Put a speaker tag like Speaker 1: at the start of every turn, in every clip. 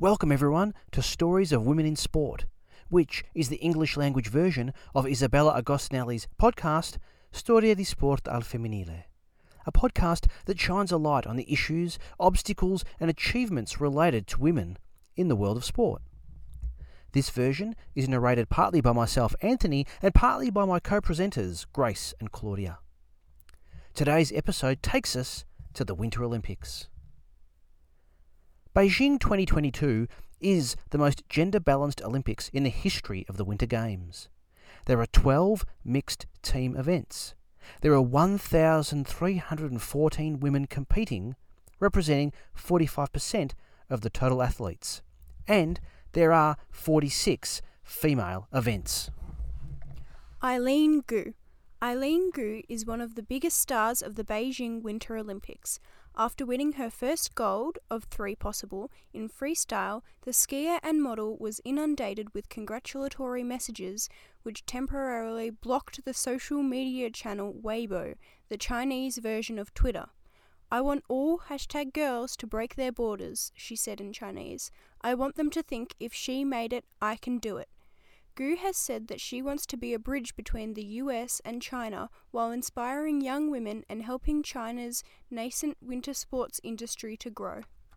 Speaker 1: Welcome everyone to Stories of Women in Sport, which is the English language version of Isabella Agostinelli's podcast Storia di Sport al Femminile, a podcast that shines a light on the issues, obstacles and achievements related to women in the world of sport. This version is narrated partly by myself, Anthony, and partly by my co-presenters, Grace and Claudia. Today's episode takes us to the Winter Olympics. Beijing 2022 is the most gender-balanced Olympics in the history of the Winter Games. There are 12 mixed team events. There are 1,314 women competing, representing 45% of the total athletes. And there are 46 female events.
Speaker 2: Eileen Gu. Eileen Gu is one of the biggest stars of the Beijing Winter Olympics. After winning her first gold of 3 possible in freestyle, the skier and model was inundated with congratulatory messages which temporarily blocked the social media channel Weibo, the Chinese version of Twitter. "I want all #girls to break their borders," she said in Chinese. "I want them to think if she made it, I can do it." Gu has said that she wants to be a bridge between the US and China while inspiring young women and helping China's nascent winter sports industry to grow.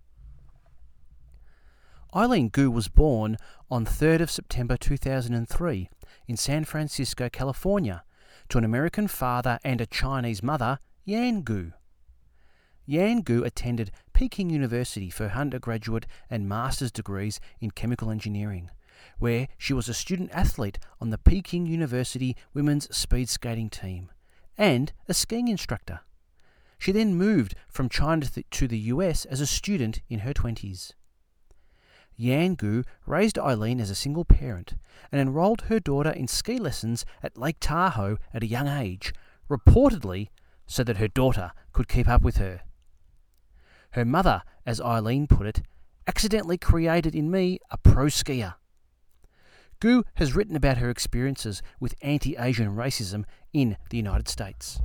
Speaker 1: Eileen Gu was born on 3rd of September 2003 in San Francisco, California, to an American father and a Chinese mother, Yan Gu. Yan Gu attended Peking University for her undergraduate and master's degrees in chemical engineering, where she was a student athlete on the Peking University women's speed skating team and a skiing instructor. She then moved from China to the US as a student in her 20s. Yan Gu raised Eileen as a single parent and enrolled her daughter in ski lessons at Lake Tahoe at a young age, reportedly so that her daughter could keep up with her. Her mother, as Eileen put it, accidentally created in me a pro skier. Gu has written about her experiences with anti-Asian racism in the United States.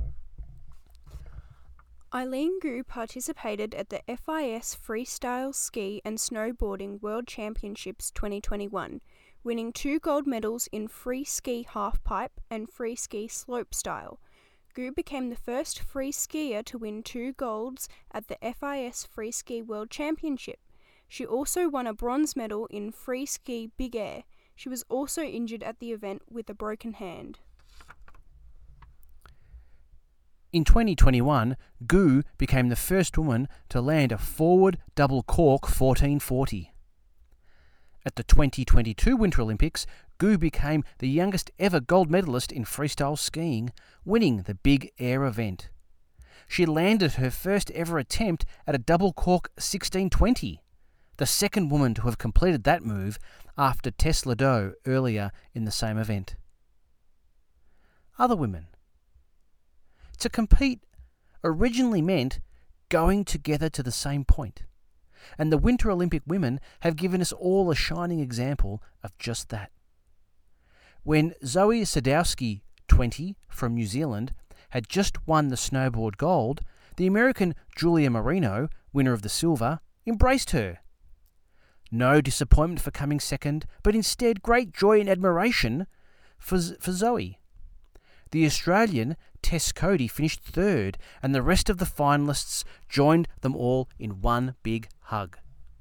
Speaker 2: Eileen Gu participated at the FIS Freestyle Ski and Snowboarding World Championships 2021, winning 2 gold medals in free ski halfpipe and free ski slopestyle. Gu became the first free skier to win 2 golds at the FIS Free Ski World Championship. She also won a bronze medal in free ski big air. She was also injured at the event with a broken hand.
Speaker 1: In 2021, Gu became the first woman to land a forward double cork 1440. At the 2022 Winter Olympics, Gu became the youngest ever gold medalist in freestyle skiing, winning the big air event. She landed her first ever attempt at a double cork 1620. The second woman to have completed that move after Tess Ladeau earlier in the same event. Other women. To compete originally meant going together to the same point, and the Winter Olympic women have given us all a shining example of just that. When Zoi Sadowski, 20, from New Zealand, had just won the snowboard gold, the American Julia Marino, winner of the silver, embraced her. No disappointment for coming second, but instead great joy and admiration for Zoe. The Australian Tess Cody finished 3rd, and the rest of the finalists joined them all in one big hug.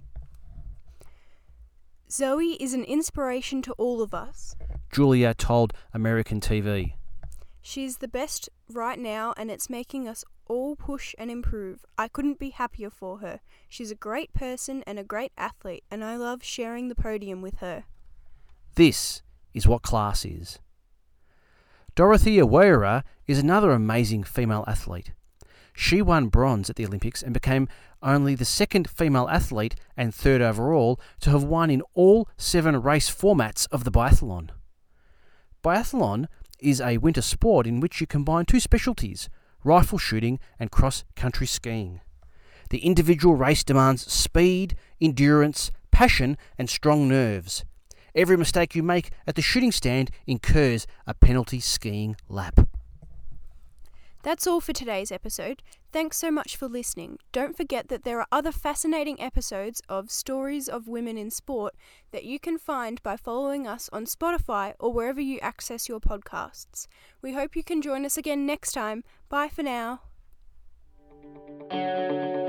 Speaker 2: "Zoe is an inspiration to all of us,"
Speaker 1: Julia told American TV.
Speaker 2: "She's the best right now and it's making us all push and improve. I couldn't be happier for her. She's a great person and a great athlete, and I love sharing the podium with her."
Speaker 1: This is what class is. Dorothea Weira is another amazing female athlete. She won bronze at the Olympics and became only the second female athlete and 3rd overall to have won in all 7 race formats of the biathlon. Biathlon is a winter sport in which you combine 2 specialties, rifle shooting and cross-country skiing. The individual race demands speed, endurance, passion and strong nerves. Every mistake you make at the shooting stand incurs a penalty skiing lap.
Speaker 2: That's all for today's episode. Thanks so much for listening. Don't forget that there are other fascinating episodes of Stories of Women in Sport that you can find by following us on Spotify or wherever you access your podcasts. We hope you can join us again next time. Bye for now.